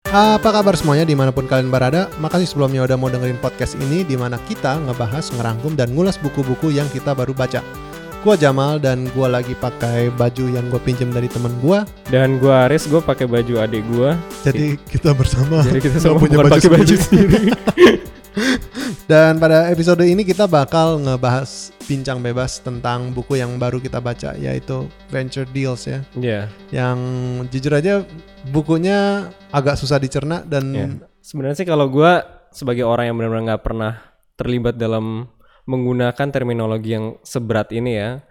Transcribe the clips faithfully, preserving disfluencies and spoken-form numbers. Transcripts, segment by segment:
Apa kabar semuanya dimanapun kalian berada? Makasih sebelumnya udah mau dengerin podcast ini di mana kita ngebahas, ngerangkum, dan ngulas buku-buku yang kita baru baca. Gua Jamal dan gua lagi pakai baju yang gua pinjam dari temen gua. Dan gua Aris, gua pakai baju adik gua. Jadi kita bersama. Jadi kita sama punya bukan baju pakai baju sendiri. Dan pada episode ini kita bakal ngebahas bincang bebas tentang buku yang baru kita baca, yaitu Venture Deals ya. Iya. Yeah. Yang jujur aja bukunya agak susah dicerna dan yeah. Sebenarnya sih kalau gua sebagai orang yang benar-benar nggak pernah terlibat dalam menggunakan terminologi yang seberat ini ya,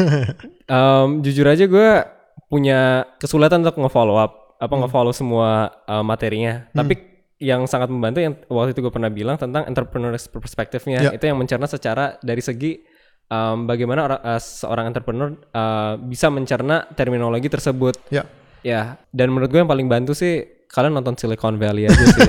um, jujur aja gue punya kesulitan untuk nge-follow up, apa hmm. nge-follow semua uh, materinya. Hmm. Tapi yang sangat membantu yang waktu itu gue pernah bilang tentang entrepreneur perspektifnya, yeah. itu yang mencerna secara dari segi um, bagaimana orang, uh, seorang entrepreneur uh, bisa mencerna terminologi tersebut. Ya. Ya. Dan menurut gue yang paling bantu sih kalian nonton Silicon Valley aja sih.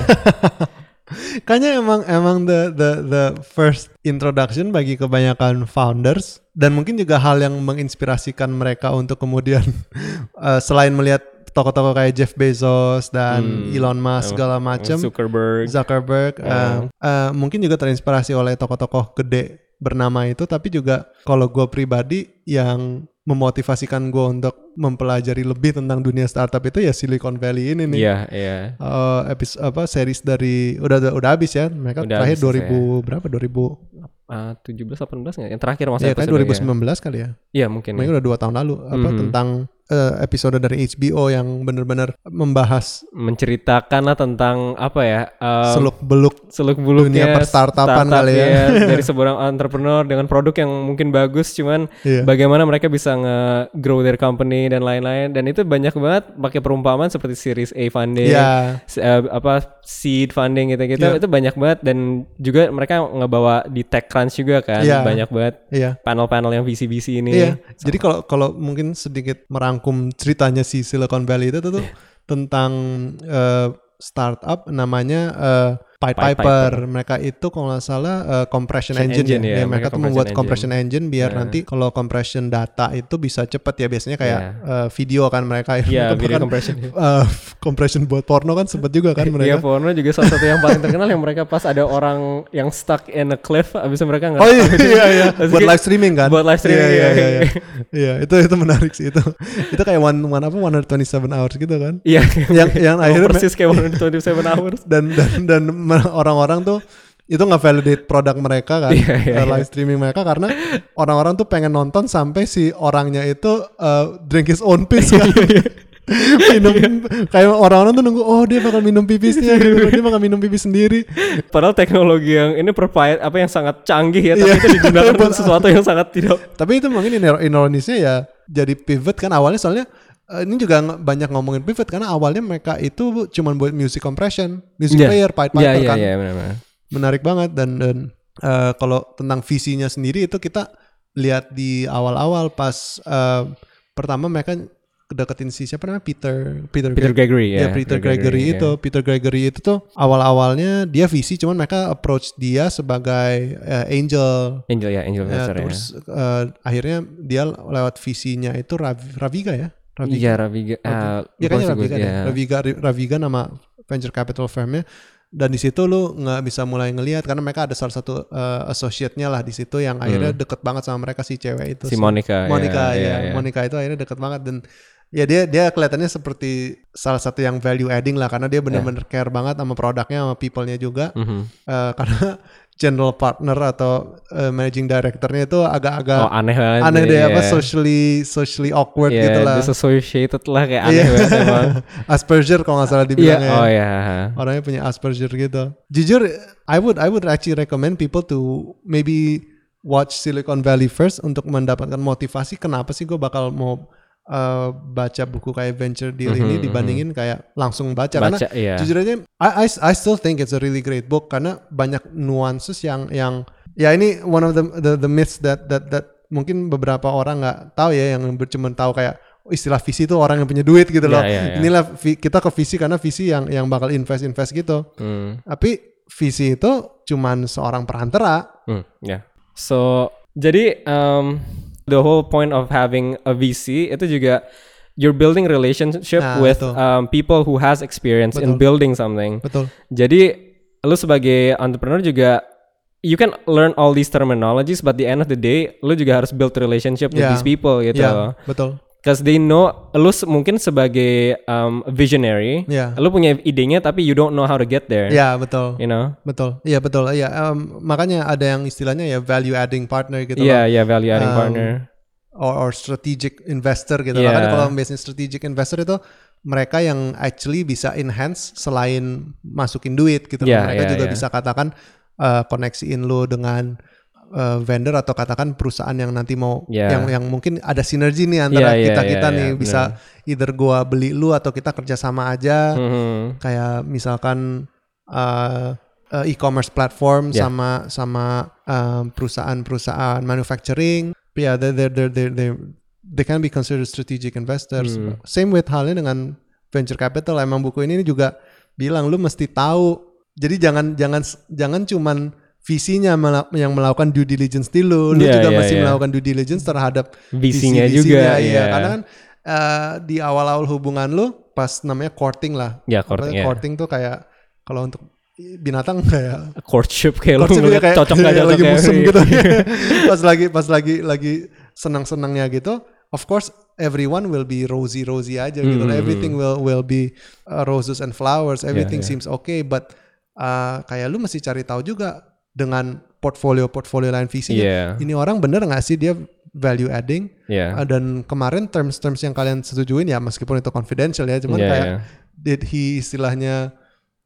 Kayaknya emang emang the the the first introduction bagi kebanyakan founders dan mungkin juga hal yang menginspirasikan mereka untuk kemudian uh, selain melihat tokoh-tokoh kayak Jeff Bezos dan hmm, Elon Musk segala macam, Zuckerberg, Zuckerberg, uh, uh, mungkin juga terinspirasi oleh tokoh-tokoh gede bernama itu, tapi juga kalau gue pribadi yang memotivasikan gue untuk mempelajari lebih tentang dunia startup itu ya Silicon Valley ini nih. Iya, yeah, iya. Yeah. Uh, episode apa series dari udah udah, udah habis ya. Mereka udah terakhir dua ribu ya. Berapa? dua ribu Uh, tujuh belas delapan belas enggak? Yang terakhir masa ya, kan dua ribu sembilan belas ya. Kali ya. Iya, mungkin. Mereka ya. udah dua tahun lalu apa mm-hmm. tentang uh, episode dari H B O yang benar-benar membahas, menceritakan lah tentang apa ya? Um, seluk-beluk seluk-beluknya dunia perstartupan kali ya. Dari seorang entrepreneur dengan produk yang mungkin bagus, cuman yeah. bagaimana mereka bisa nge-grow their company dan lain-lain. Dan itu banyak banget pakai perumpamaan seperti Series A funding, yeah. uh, apa seed funding gitu-gitu. Yeah. Itu banyak banget dan juga mereka ngebawa di TechCrunch juga kan, yeah. banyak banget yeah. panel-panel yang V C V C ini. Yeah. Jadi kalau kalau mungkin sedikit merangkum ceritanya si Silicon Valley itu tuh, tuh tentang uh, startup namanya uh, Pied Piper. Piper. Mereka itu kalau nggak salah uh, compression engine, engine ya. ya. Mereka, mereka tuh membuat engine. compression engine biar yeah. nanti kalau compression data itu bisa cepet ya. Biasanya kayak yeah. uh, video kan mereka. Iya, yeah, video kan, compression. Uh, compression buat porno kan sempet juga kan mereka. Iya, porno juga salah satu yang paling terkenal yang mereka pas ada orang yang stuck in a cliff, abis itu mereka nggak. Oh iya iya iya. Buat live streaming kan. Buat live streaming. Iya iya iya. Iya itu itu menarik sih itu. Itu kayak one one apa one hundred twenty-seven hours gitu kan. Iya. yang yang akhirnya persis kayak one hundred twenty-seven hours. Dan dan dan orang-orang tuh itu nggak validate produk mereka kan, yeah, yeah, live streaming yeah. mereka karena orang-orang tuh pengen nonton sampai si orangnya itu uh, drink his own piss kan. minum kayak orang-orang tuh nunggu oh dia bakal minum pipisnya gitu, dia bakal minum pipis sendiri. Padahal teknologi yang ini provide apa yang sangat canggih ya, tapi yeah. itu digunakan untuk sesuatu yang sangat tidak. Tapi itu mungkin ironisnya ya jadi pivot kan awalnya soalnya. Uh, ini juga banyak ngomongin pivot karena awalnya mereka itu cuma buat music compression, music yeah. player, Pied Piper yeah, yeah, kan, yeah, benar-benar. Menarik banget dan dan uh, kalau tentang visinya sendiri itu kita lihat di awal-awal pas uh, pertama mereka deketin si siapa namanya Peter Peter, Peter Gregory ya yeah, Peter Gregory, Gregory itu yeah. Peter Gregory itu tuh awal-awalnya dia visi cuman mereka approach dia sebagai uh, angel angel ya angel ya, terus ya. Uh, akhirnya dia lewat visinya itu Rav, Raviga ya Raviga. Iya Raviga. Uh, ya kayaknya Raviga deh. Raviga Raviga nama venture capital firmnya. Dan di situ lu nggak bisa mulai ngelihat karena mereka ada salah satu uh, associate-nya lah di situ yang akhirnya hmm. deket banget sama mereka si cewek itu. Si Monica. Monica ya, ya. ya, ya. Monica itu akhirnya deket banget dan ya dia dia kelihatannya seperti salah satu yang value adding lah karena dia benar-benar yeah. care banget sama produknya sama people-nya juga. Mm-hmm. Uh, karena general partner atau uh, managing directornya itu agak-agak oh, aneh banget aneh deh yeah. apa socially socially awkward yeah, gitu lah. Disassociated lah kayak aneh yeah. banget emang. Asperger kalau nggak salah dibilangnya. Yeah. Oh ya. Yeah. Orangnya punya Asperger gitu. Jujur, I would I would actually recommend people to maybe watch Silicon Valley first untuk mendapatkan motivasi kenapa sih gue bakal mau Uh, baca buku kayak Venture Deal mm-hmm, ini dibandingin mm-hmm. kayak langsung baca, baca karena yeah. jujur aja I, I I still think it's a really great book karena banyak nuances yang yang ya ini one of the the, the myths that that that mungkin beberapa orang nggak tahu ya yang cuma tahu kayak oh, istilah visi itu orang yang punya duit gitu loh. Yeah, yeah, yeah. Inilah vi, kita ke visi karena visi yang yang bakal invest invest gitu. Mm. Tapi visi itu cuman seorang perantara. Mm, yeah. So jadi um, the whole point of having a V C itu juga you're building relationship Nah, with betul. um, people who has experience in Betul. building something. Betul. Jadi lu sebagai entrepreneur juga you can learn all these terminologies, but the end of the day, lu juga harus build relationship with Yeah. these people gitu. Yeah, betul. Because they know, lu se- mungkin sebagai um, visionary, Yeah. lu punya idenya tapi you don't know how to get there. Ya, betul. You know? Betul. Iya, betul. Iya, um, makanya ada yang istilahnya ya value adding partner gitu Iya, loh. iya value adding Um, partner. Or, or strategic investor gitu. Yeah. Makanya kalau biasanya strategic investor itu mereka yang actually bisa enhance selain masukin duit gitu. Yeah, mereka yeah, juga yeah. bisa katakan uh, koneksiin lu dengan uh, vendor atau katakan perusahaan yang nanti mau Yeah. yang yang mungkin ada sinergi nih antara Yeah, yeah, kita-kita yeah, nih yeah, bisa either gua beli lu atau kita kerjasama aja. Mhm. Kayak misalkan uh, uh, e-commerce platform Yeah. sama sama um, perusahaan-perusahaan manufacturing. Yeah, they they they they they they can be considered strategic investors. Hmm. Same with halnya dengan venture capital. Emang buku ini juga bilang lu mesti tahu. Jadi jangan jangan jangan cuman visinya mela- yang melakukan due diligence di lu, lu Yeah, juga yeah, mesti yeah. melakukan due diligence terhadap Visinya visi-visinya, juga, iya. yeah. Karena kan uh, di awal-awal hubungan lu pas namanya courting lah. Ya, Apa, courting, yeah. courting tuh kayak kalau untuk binatang kayak Courtship kayak lu courtship ngeliat kayak cocok gak cocok lagi ya. musim gitu. pas lagi pas lagi lagi senang-senangnya gitu, of course everyone will be rosy-rosy aja gitu. Hmm. Everything will will be uh, roses and flowers. Everything yeah. seems okay, but uh, kayak lu mesti cari tahu juga dengan portfolio-portfolio lain visinya. Yeah. Ini orang bener nggak sih dia value adding? Yeah. Uh, dan kemarin terms-terms yang kalian setujuin ya meskipun itu confidential ya, cuman Yeah, kayak yeah. did he istilahnya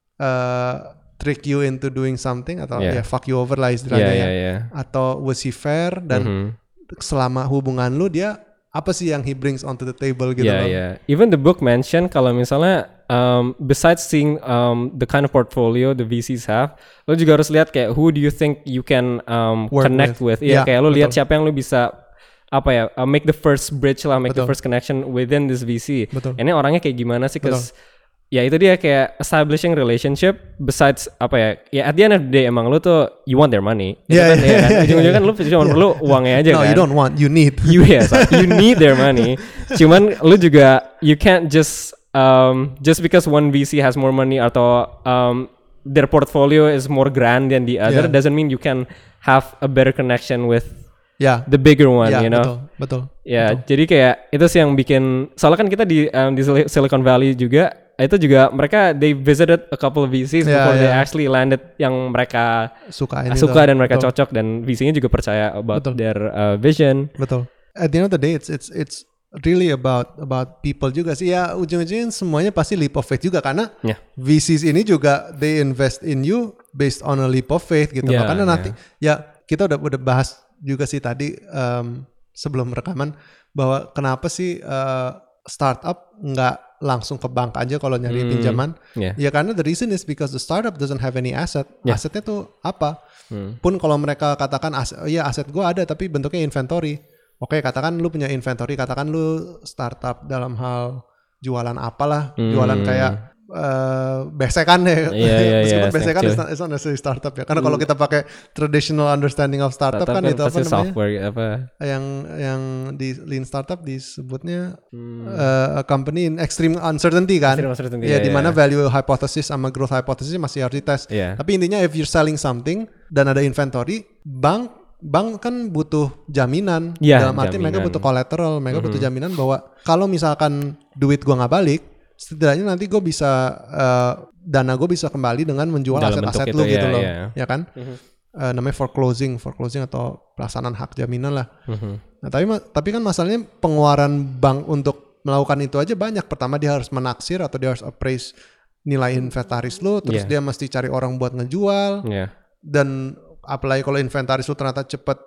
uh, trick you into doing something atau Yeah. ya fuck you over lah istilahnya Yeah, ya, yeah, yeah. atau was he fair dan Mhm. selama hubungan lu dia apa sih yang he brings onto the table gitu Yeah, loh. yeah. Even the book mention kalau misalnya um, besides seeing um, the kind of portfolio the V Cs have, lo juga harus lihat kayak who do you think you can um, Work connect with. with. Iya, Yeah, kayak lo lihat betul. siapa yang lo bisa apa ya uh, make the first bridge lah, make the Betul. first connection within this V C. Betul. Ini orangnya kayak gimana sih? Cause ya itu dia kayak establishing relationship besides apa ya? Ya at the end of the day emang lo tuh you want their money. Itu Yeah, kan, yeah, ya kan? yeah, Ujung-ujungnya kan yeah. lo cuma Yeah. perlu uangnya aja No, kan. you don't want, you need. You yes, you need their money. Cuman lu juga you can't just um, just because one V C has more money atau um, their portfolio is more grand than the other Yeah. doesn't mean you can have a better connection with Ya, the bigger one, ya you know. betul, betul. Ya, betul. jadi kayak itu sih yang bikin. Soalnya kan kita di um, di Sil- Silicon Valley juga itu juga mereka they visited a couple of V Cs Yeah, before they yeah. actually landed yang mereka Suka ini suka tuh. dan mereka Betul. cocok dan V C-nya juga percaya about Betul. their uh, vision. Betul. At the end of the day, it's it's it's really about about people juga sih. Ya ujung-ujungnya semuanya pasti leap of faith juga karena Yeah. V Cs ini juga they invest in you based on a leap of faith gitu. Yeah, loh. Karena yeah. nanti ya kita udah udah bahas juga sih tadi um, sebelum rekaman bahwa kenapa sih uh, startup nggak langsung ke bank aja kalau nyari Hmm. pinjaman? Yeah. Ya karena the reason is because the startup doesn't have any asset. Yeah. Asetnya tuh apa? Hmm. Pun kalau mereka katakan aset, oh iya aset gue ada tapi bentuknya inventory. Oke, katakan lu punya inventory, katakan lu startup dalam hal jualan apalah, Hmm. jualan kayak uh, besekan ya. Iya, iya, Meskipun iya, besekan snack is not, is not necessarily startup ya. Karena kalau kita pakai traditional understanding of startup, Startup kan itu apa pasti namanya? software apa? Yang yang di lean startup disebutnya Hmm. uh, a company in extreme uncertainty kan. Extreme uncertainty, Ya, iya, di mana iya. value hypothesis sama growth hypothesis masih harus dites. Iya. Tapi intinya if you're selling something dan ada inventory, bank bank kan butuh jaminan. Iya, Dalam arti mereka jaminan. butuh collateral, mereka butuh jaminan bahwa kalau misalkan duit gua nggak balik, setidaknya nanti gue bisa uh, dana gue bisa kembali dengan menjual Dalam bentuk aset-aset itu, lu iya, gitu loh, iya. ya kan? Uh, namanya foreclosing, foreclosing atau pelaksanaan hak jaminan lah. Mhm. Nah, tapi ma- tapi kan masalahnya pengeluaran bank untuk melakukan itu aja banyak. Pertama dia harus menaksir atau dia harus appraise nilai inventaris lu, terus Yeah. dia mesti cari orang buat ngejual, Iya. dan apalagi kalau inventaris lu ternyata cepet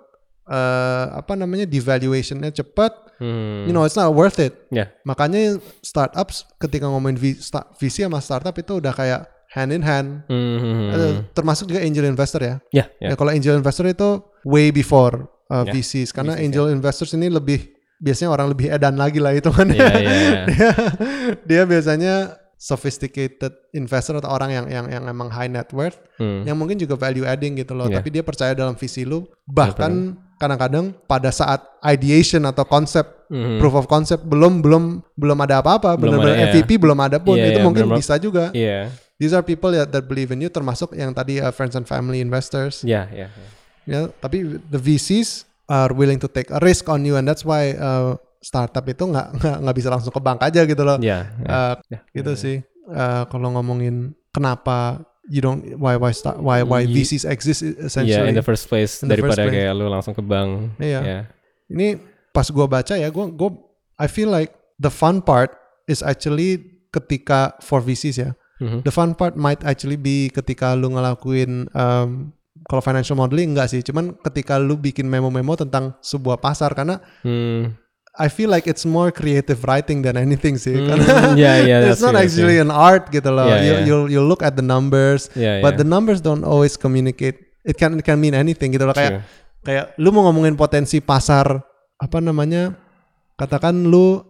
eh, apa namanya devaluationnya cepet, Hmm. you know it's not worth it. Ya. Makanya startups ketika ngomongin V, sta- V C sama startup itu udah kayak hand in hand. Hmm. Eh, termasuk juga angel investor ya. Ya, ya. Ya kalau angel investor itu way before uh, Ya, V Cs karena V Cs, angel investors ini lebih biasanya orang lebih edan lagi lah hitungannya. Iya, iya, iya. dia, dia biasanya sophisticated investor atau orang yang yang yang emang high net worth Hmm. yang mungkin juga value adding gitu loh, Ya. tapi dia percaya dalam visi lu, bahkan kadang-kadang pada saat ideation atau konsep Mhm. proof of concept belum belum belum ada apa-apa, Belum benar-benar ada, M V P belum ada pun, Iya, itu iya, mungkin benar-benar. bisa juga. Iya. These are people that, that believe in you, termasuk yang tadi uh, friends and family investors. Ya, ya. ya. Ya, tapi the V Cs are willing to take a risk on you, and that's why uh, startup itu nggak nggak nggak bisa langsung ke bank aja gitu loh. Ya, ya. Uh, Ya, gitu ya. sih. Uh, kalau ngomongin kenapa you don't why why start why why Ye- V Cs exist Iya, essentially. in the first place In the first daripada place. kayak lu langsung ke bank. Iya. Ya. Ini pas gua baca ya, gua gua I feel like the fun part is actually ketika for V Cs ya. Mhm. The fun part might actually be ketika lu ngelakuin um, kalau financial modeling enggak sih, cuman ketika lu bikin memo-memo tentang sebuah pasar, karena Hmm. I feel like it's more creative writing than anything sih. Hmm, Karena yeah, yeah, it's that's not true, that's actually an art gitu loh. Yeah, you yeah. you you look at the numbers, Yeah, but yeah. the numbers don't always communicate. It can it can mean anything gitu loh. Kayak True. kayak lu mau ngomongin potensi pasar apa namanya? Katakan lu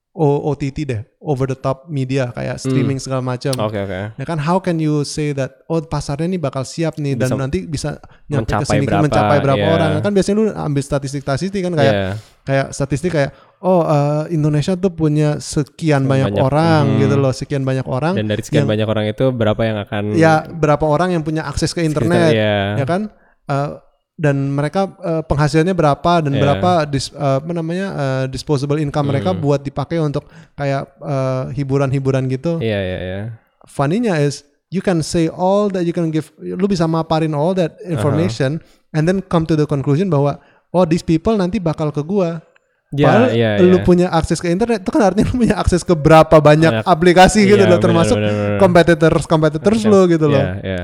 O T T deh, over the top media kayak streaming segala macam. Oke, oke. Ya kan, how can you say that oh pasarnya nih bakal siap nih dan Bisa nanti bisa nyampe ke mencapai sini berapa, mencapai berapa yeah. orang. Kan biasanya lu ambil statistik-statistik kan kayak Yeah. kayak statistik kayak oh eh, Indonesia tuh punya sekian banyak, Banyak, orang hmm. gitu loh, sekian banyak orang. Dan dari sekian yang- banyak orang itu berapa yang akan ya berapa orang yang punya akses ke internet, Iya. ya kan? Eh, dan mereka eh, penghasilannya berapa dan Iya. berapa dis, eh, apa namanya eh, disposable income mereka Hmm. buat dipakai untuk kayak eh, hiburan-hiburan gitu. Iya, iya, iya. Funny-nya is you can say all that, you can give, lu bisa maparin all that information and then come to the conclusion bahwa oh these people nanti bakal ke gua. Ya, Padahal iya, lu iya. punya akses ke internet itu kan artinya lu punya akses ke berapa banyak Banyak. aplikasi gitu Iya, loh, termasuk benar, benar, benar. competitors competitors lu gitu loh. Iya, iya.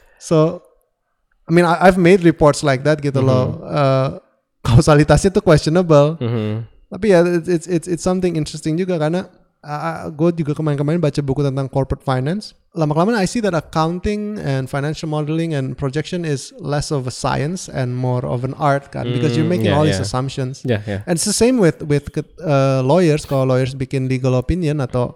So I mean I, I've made reports like that gitu loh. Mm-hmm. Uh, kausalitasnya tuh questionable. Mhm. Tapi ya it's it's it's, it's something interesting juga karena uh, gue juga kemarin-kemarin baca buku tentang corporate finance. Lama-kelamaan I see that accounting and financial modeling and projection is less of a science and more of an art kan, because you're Mm, making yeah, all these yeah. assumptions. Ya, ya. And it's the same with with uh, lawyers. Kalau lawyers bikin legal opinion atau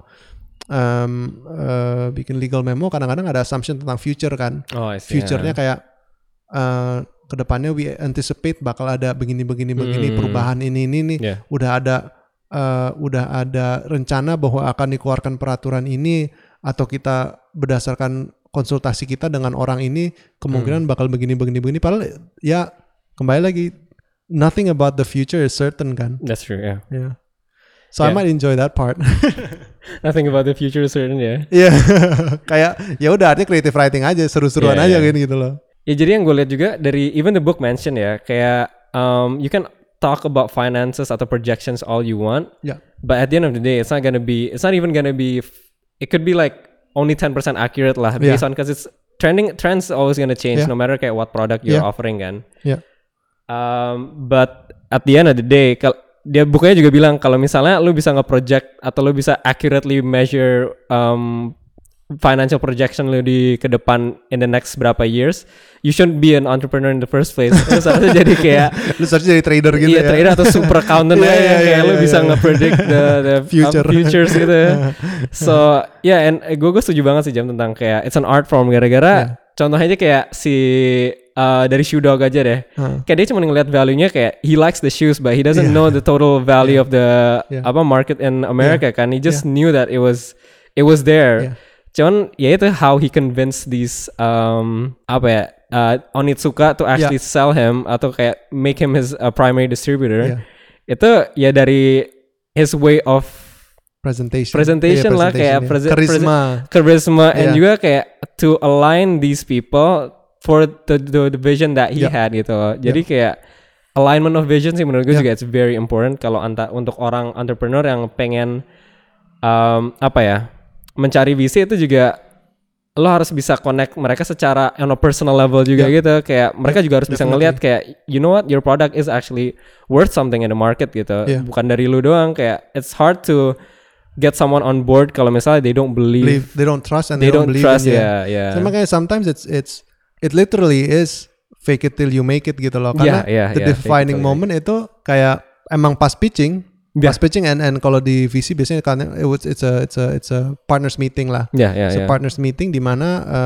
um, uh, bikin legal memo, kadang-kadang ada assumption tentang future kan. Oh, I see. Future-nya ya. kayak uh, kedepannya we anticipate bakal ada begini-begini begini Hmm. perubahan ini ini nih. Yeah. Udah ada uh, udah ada rencana bahwa akan dikeluarkan peraturan ini, atau kita berdasarkan konsultasi kita dengan orang ini kemungkinan bakal begini-begini begini. Padahal ya kembali lagi, nothing about the future is certain kan. That's true, ya. Yeah. So I Yeah. might enjoy that part. Nothing about the future is certain, ya. Iya, kayak ya udah artinya creative writing aja, seru-seruan Yeah, aja yeah. kan gitu loh. Ya, jadi yang gue lihat juga dari even the book mention ya, kayak um, you can talk about finances atau projections all you want, Ya. but at the end of the day, it's not gonna be, it's not even gonna be, it could be like only ten percent accurate lah, based Yeah. on, because it's trending, trends always gonna change Yeah. no matter kayak what product you're Yeah. offering kan. Ya. Um, but at the end of the day, kal- dia bukunya juga bilang kalau misalnya lu bisa nge-project atau lu bisa accurately measure um, financial projection lu di ke depan in the next berapa years, you shouldn't be an entrepreneur in the first place. Lu seharusnya jadi kayak Lu seharusnya jadi trader gitu iya, ya. trader atau super accountant Iya, aja iya, yang kayak iya, lu iya, bisa iya. nge-predict the, the Future. um, futures gitu. So yeah, and gue gue setuju banget sih Jam tentang kayak it's an art form, gara-gara contohnya aja kayak si uh, dari Shoe Dog aja deh. Huh. Kayak dia cuma ngeliat value-nya kayak he likes the shoes but he doesn't Yeah. know the total value of the Yeah. apa market in America kan. He just Yeah. knew that it was it was there. Yeah. Cuman ya itu how he convinced these um apa ya uh, Onitsuka to actually sell him atau kayak make him his uh, primary distributor. Yeah. Itu ya dari his way of Presentation. presentation Iya, lah, kayak ya. prese- Charisma. charisma and Yeah. juga kayak to align these people for the the, the vision that he Yeah. had gitu loh. Jadi kayak alignment of vision sih menurut gue Yeah. juga it's very important kalau anta untuk orang entrepreneur yang pengen um, apa ya mencari visi itu juga lo harus bisa connect mereka secara on a personal level juga Yeah. gitu, kayak mereka Yeah, juga harus bisa definitely. ngelihat kayak you know what, your product is actually worth something in the market gitu, Yeah. bukan dari lu doang. Kayak it's hard to get someone on board kalau misalnya they don't believe, Believe, they don't trust and they, they, don't, don't believe trust in you. ya ya So, makanya sometimes it's it's it literally is fake it till you make it gitu loh. Karena Yeah, yeah, the yeah, fake it defining till you moment itu kayak emang pas pitching, Yeah. pas pitching and and kalau di V C biasanya kan it was, it's a it's a it's a partners meeting lah. ya ya It's ya a partners meeting di mana uh,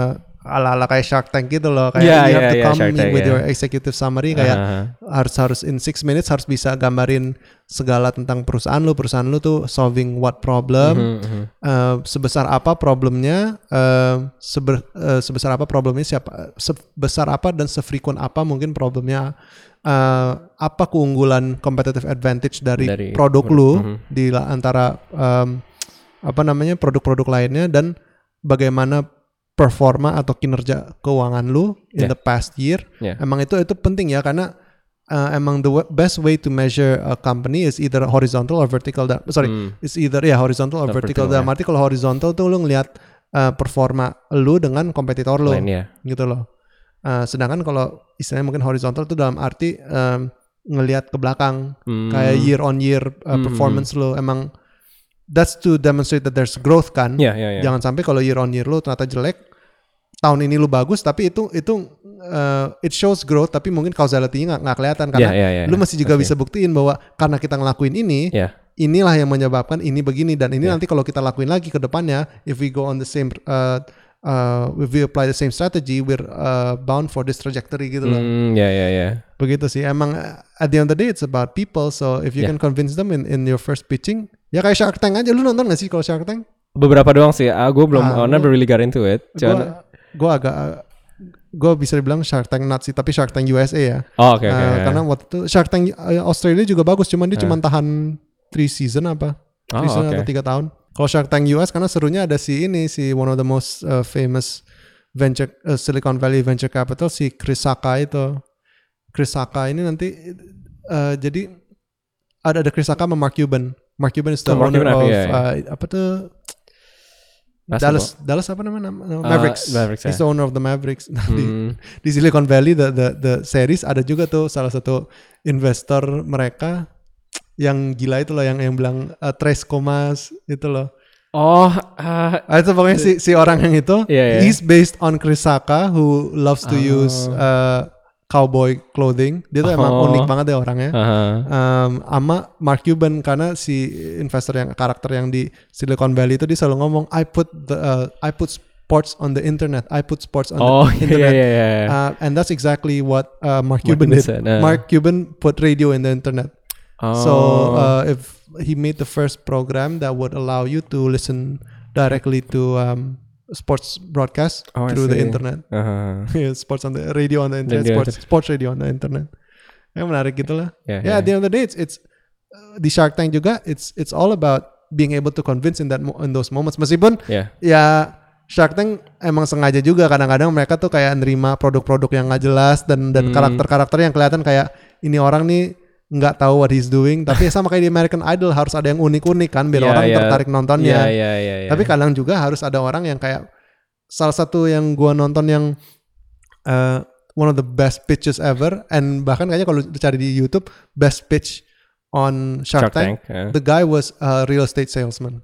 ala-ala kayak Shark Tank gitu loh, kayak Yeah, you have yeah, to yeah, come Shark in Tank, with yeah. your executive summary kayak Uh-huh. harus harus in six minutes harus bisa gambarin segala tentang perusahaan lu, perusahaan lu tuh solving what problem, Mhm, mhm. uh, sebesar apa problemnya, uh, seber, uh, sebesar apa problemnya siapa, sebesar apa dan sefrequent apa mungkin problemnya, uh, apa keunggulan competitive advantage dari, Dari produk produk, lu mhm. di la- antara um, apa namanya produk-produk lainnya dan bagaimana performa atau kinerja keuangan lu in Yeah. the past year. Yeah. Emang itu itu penting ya karena uh, emang the w- best way to measure a company is either horizontal or vertical. Da- sorry, Hmm. it's either ya yeah, horizontal or Or vertical. vertical, Dalam ya. arti kalau horizontal tuh lu ngelihat uh, performa lu dengan kompetitor lu, Lain, ya. gitu loh. Uh, sedangkan kalau istilahnya mungkin horizontal tuh dalam arti um, ngelihat ke belakang, Hmm. kayak year on year uh, Hmm. performance lu emang. That's to demonstrate that there's growth kan. Yeah, yeah, yeah. Jangan sampai kalau year on year lu ternyata jelek, tahun ini lu bagus tapi itu itu uh, it shows growth tapi mungkin causality-nya nggak nggak kelihatan karena Yeah, yeah, yeah, lu yeah. masih juga Pasti. bisa buktiin bahwa karena kita ngelakuin ini, Yeah. inilah yang menyebabkan ini begini dan ini Yeah. nanti kalau kita lakuin lagi ke depannya, if we go on the same uh, uh, if we apply the same strategy, we're uh, bound for this trajectory gitu loh. Hmm, ya, ya, ya. Begitu sih. Emang uh, at the end of the day it's about people. So if you Yeah. can convince them in in your first pitching, ya kayak Shark Tank aja. Lu nonton gak sih kalau Shark Tank? Beberapa doang sih. Ah, gue belum, Ah, I never really got into it. Gue Cuman, gue agak gue bisa dibilang Shark Tank nut sih, tapi Shark Tank U S A ya. oh, oke, oke. Uh, oke. Karena waktu itu Shark Tank uh, Australia juga bagus, cuman dia Ah. cuma tahan three season apa? Oh, three season oke. atau tiga tahun. Kalau Shark Tank U S karena serunya ada si ini si one of the most uh, famous venture uh, Silicon Valley venture capital si Chris Sacca itu. Chris Sacca ini nanti uh, jadi ada ada Chris Sacca sama Mark Cuban. Mark Cuban is the Oh, Mark owner Cuban, of iya, iya. uh, apa tuh Basketball. Dallas Dallas apa namanya nama- nama- Uh, Mavericks. Mavericks, He's ya. the owner of the Mavericks. Nah, di, Hmm. di Silicon Valley the, the the series ada juga tuh salah satu investor mereka yang gila itu loh yang yang bilang uh, Tres Comas itu loh. Oh, ah, Ah, itu pokoknya si si orang yang itu Iya, iya. he's based on Chris Sacca who loves to Oh. use uh, cowboy clothing. Dia tuh emang Oh. unik banget deh orangnya. aha. Um, sama Mark Cuban karena si investor yang karakter yang di Silicon Valley itu dia selalu ngomong I put the uh, I put sports on the internet. I put sports on Oh, the iya, internet. iya, iya. Uh, and that's exactly what uh, Mark Mark Cuban Cuban did. said, uh. Mark Cuban put radio in the internet. Oh. So uh, if he made the first program that would allow you to listen directly to um, sports broadcast Oh, I through the see. internet. Aha. Yeah, sports on the radio on the internet, Radio sports, sports radio on the internet. Ya menarik gitu lah. Yeah, Yeah, yeah. at the end of the day, it's, it's uh, di Shark Tank juga, it's it's all about being able to convince in that mo- in those moments. Meskipun Yeah. ya Shark Tank emang sengaja juga kadang-kadang mereka tuh kayak nerima produk-produk yang nggak jelas dan dan Hmm. karakter-karakter yang kelihatan kayak ini orang nih nggak tahu what he's doing. Tapi sama kayak di American Idol harus ada yang unik-unik kan biar Yeah, orang yeah. tertarik nontonnya. Iya, iya, iya, iya. Tapi kadang juga harus ada orang yang kayak salah satu yang gua nonton yang uh, one of the best pitches ever and bahkan kayaknya kalau dicari di YouTube best pitch on Shark, Shark Tank, Tank, yeah. the guy was a real estate salesman.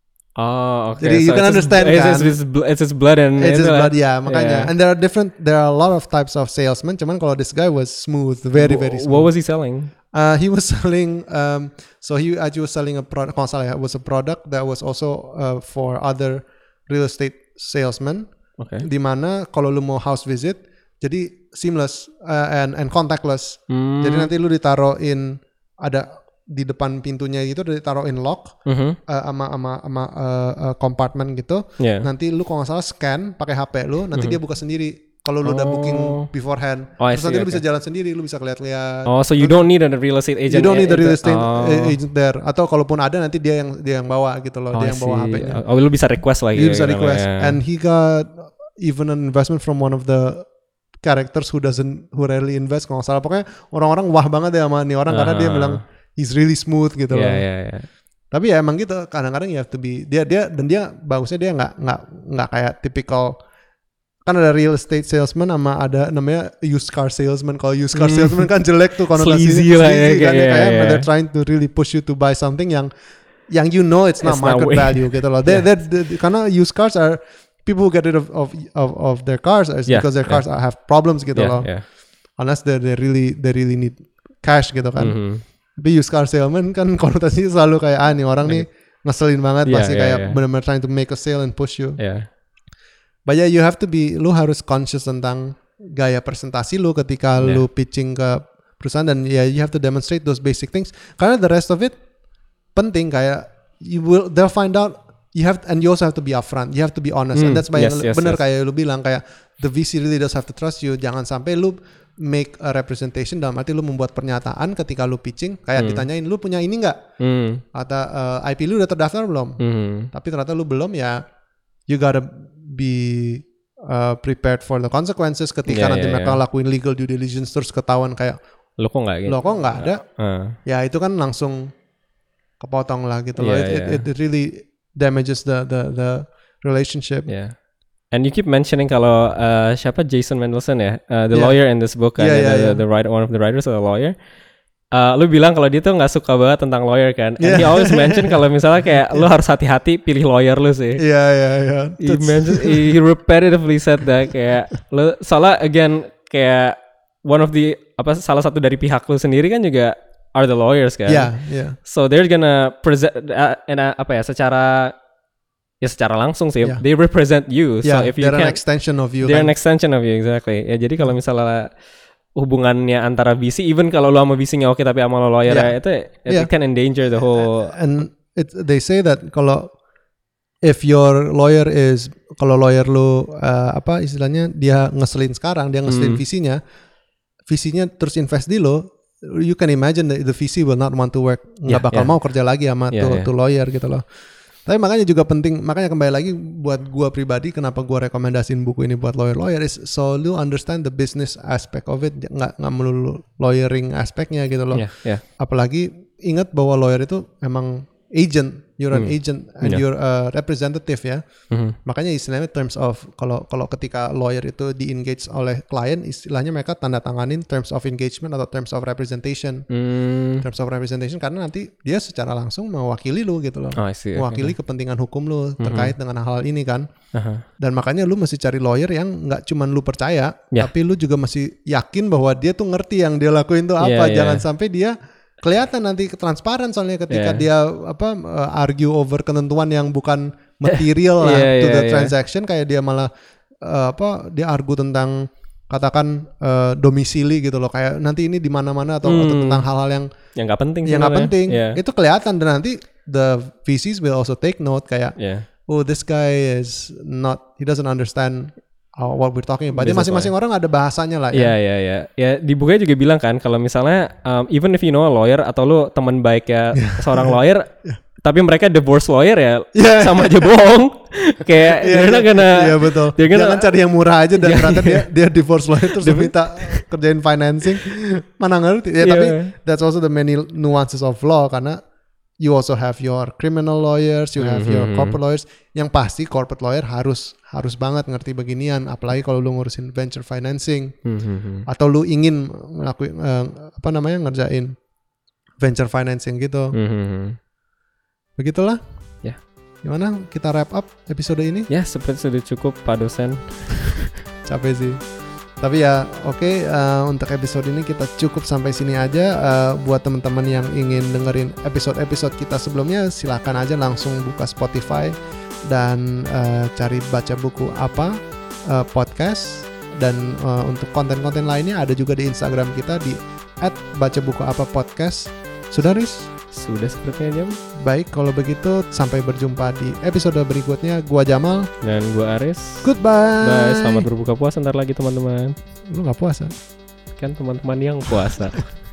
Oh, okay. Jadi you can it's his- understand, it's, kan? It's, his bl- it's his blood and It's his itu lah. blood, ya makanya. Yeah. And there are different, there are a lot of types of salesmen. Cuman kalau this guy was smooth, very very Wh- smooth. What was he selling? Uh, he was selling, um, so he actually was selling a product. Kalau salah ya, was a product that was also uh, for other real estate salesmen. Okay. Di mana kalau lu mau house visit, jadi seamless uh, and and contactless. Hmm. Jadi nanti lu ditaruhin ada di depan pintunya gitu, ditaruhin lock Mhm. uh, sama sama sama uh, uh, compartment gitu. Yeah. Nanti lu kalau nggak salah scan pakai H P lu, nanti dia buka sendiri. Kalau lu udah Oh. booking beforehand, Oh, I terus nanti see, lu bisa okay. jalan sendiri, lu bisa lihat-lihat. Oh, so you don't need a real estate agent. You don't need the real estate Oh. agent there. Atau kalaupun ada nanti dia yang dia yang bawa gitu loh, Oh, dia I yang bawa see. H P-nya. Oh, lu bisa request lagi. Dia bisa gitu, request. ya. And he got even an investment from one of the characters who doesn't who rarely invest kalau nggak salah. Pokoknya orang-orang wah banget ya sama nih orang karena dia Ah. bilang he's really smooth gitu loh. Yeah, yeah, yeah. Tapi ya emang gitu kadang-kadang you have to be dia dia dan dia bagusnya dia nggak nggak nggak kayak typical kan ada real estate salesman sama ada namanya used car salesman. Kalau used car Hmm. salesman kan jelek tuh konotasinya. Sleazy lah ya, Sleazy kan, kayak- ya, kayak yeah, they're yeah. trying to really push you to buy something yang yang you know it's not It's not market way- value gitu loh. They, Yeah. they, they, karena used cars are people who get rid of of of, of their cars is Yeah, because their yeah. cars are- have problems gitu Yeah, loh. yeah. Unless they they really they really need cash gitu kan. Mhm. Tapi used car salesman kan konotasinya selalu kayak ah nih orang nih ngeselin banget Yeah, pasti yeah, kayak yeah. benar-benar trying to make a sale and push you. Yeah. But yeah, you have to be, lu harus conscious tentang gaya presentasi lu ketika Yeah. lu pitching ke perusahaan, dan ya yeah, you have to demonstrate those basic things. Karena the rest of it penting, kayak you will they'll find out. You have, and you also have to be upfront. You have to be honest, Mm, and that's why yes, yang yes, bener yes. kayak lu bilang, kayak the V C really does have to trust you. Jangan sampai lu make a representation dalam arti lu membuat pernyataan ketika lu pitching, kayak Hmm. ditanyain lu punya ini nggak, Hmm. atau uh, I P lu udah terdaftar belum? Hmm. Tapi ternyata lu belum, ya you gotta be uh, prepared for the consequences ketika Yeah, nanti yeah, mereka yeah. lakuin legal due diligence terus ketahuan kayak Lo kok nggak gitu? lo kok nggak ada, Uh. ya itu kan langsung kepotong lah gitu loh. Yeah, It, yeah. it, it really damages the the the relationship. Yeah. And you keep mentioning kalau uh, siapa Jason Mendelsohn ya, uh, the Yeah. lawyer in this book kan, Yeah, the, yeah, the, yeah. the writer, one of the writers of the lawyer. Uh, lu bilang kalau dia tuh nggak suka banget tentang lawyer kan. And Yeah. he always mention kalau misalnya kayak lu harus hati-hati pilih lawyer lu sih. Iya iya iya. He mentioned, he repetitively said that kayak lu soalnya again kayak one of the apa salah satu dari pihak lu sendiri kan juga are the lawyers kan. Iya iya. So they're gonna present uh, in a, apa ya secara ya secara langsung sih Yeah. they represent you. Yeah, So if you they're an can't, extension of you. they're kan. an extension of you exactly. Ya jadi kalau misalnya hubungannya antara V C, even kalau lo sama V C-nya oke tapi sama lo lawyer Yeah. ya, itu it Yeah. can endanger the whole. And it they say that kalau if your lawyer is, kalau lawyer lu uh, apa istilahnya dia ngeselin sekarang, dia ngeselin Hmm. V C-nya, V C-nya terus invest di lo, you can imagine that the V C will not want to work, nggak Yeah, bakal yeah. mau kerja lagi sama Yeah, tuh, yeah. tuh lawyer gitu loh. Tapi makanya juga penting, makanya kembali lagi buat gua pribadi, kenapa gua rekomendasiin buku ini buat lawyer-lawyer is so lu understand the business aspect of it, nggak nggak melulu lawyering aspeknya gitu loh. Yeah, yeah. Apalagi ingat bahwa lawyer itu emang agent, you're an Hmm. agent and Yeah. you're a representative ya. Mhm. Makanya istilahnya terms of, kalau kalau ketika lawyer itu di-engage oleh klien, istilahnya mereka tanda tanganin terms of engagement atau terms of representation. Hmm. Terms of representation karena nanti dia secara langsung mewakili lu gitu loh. Oh, I see. Mewakili kepentingan hukum lu terkait dengan hal ini kan. Aha. Dan makanya lu mesti cari lawyer yang nggak cuman lu percaya, Yeah. tapi lu juga mesti yakin bahwa dia tuh ngerti yang dia lakuin tuh apa. Yeah, yeah. Jangan sampai dia kelihatan nanti transparan, soalnya ketika Yeah. dia apa uh, argue over ketentuan yang bukan material lah Yeah, to yeah, the yeah. transaction, kayak dia malah uh, apa dia argue tentang katakan uh, domisili gitu loh, kayak nanti ini di mana-mana atau, atau Hmm. tentang hal-hal yang Yang nggak penting. yang nggak sebenarnya. penting. Yeah. Itu kelihatan, dan nanti the V Cs will also take note kayak Yeah. oh this guy is not, he doesn't understand how, what we're talking about. Dia Business masing-masing orang ada bahasanya lah Iya ya. iya iya. Ya di bukunya juga bilang kan kalau misalnya um, even if you know a lawyer atau lu teman baik ya seorang lawyer, tapi mereka divorce lawyer ya Yeah. sama aja bohong. Kayak Iya, they're not gonna. iya betul. they're gonna- Jangan cari yang murah aja dan Iya, ternyata iya. dia dia divorce lawyer terus dia minta kerjain financing. Mana ngerti. Ya Iya. tapi that's also the many nuances of law, karena you also have your criminal lawyers, you have your Mhm. corporate lawyers. Yang pasti corporate lawyer harus harus banget ngerti beginian, apalagi kalau lu ngurusin venture financing Hmm, hmm, hmm. atau lu ingin ngelakuin eh, apa namanya ngerjain venture financing gitu. Hmm, hmm, hmm. Begitulah. Ya. Gimana kita wrap up episode ini? Ya seperti sudah cukup Pak dosen. Capek sih. Tapi ya oke, eh, untuk episode ini kita cukup sampai sini aja. Eh, buat teman-teman yang ingin dengerin episode-episode kita sebelumnya, silakan aja langsung buka Spotify dan eh, cari Baca Buku Apa eh, podcast. Dan eh, untuk konten-konten lainnya ada juga di Instagram kita di at baca buku apa podcast. Sudah, Riz? Sudah sepertinya jam. Baik, kalau begitu sampai berjumpa di episode berikutnya. Gua Jamal. Dan gua Aris. Goodbye. Bye. Selamat berbuka puasa ntar lagi teman-teman. Lu gak puasa? Kan teman-teman yang puasa.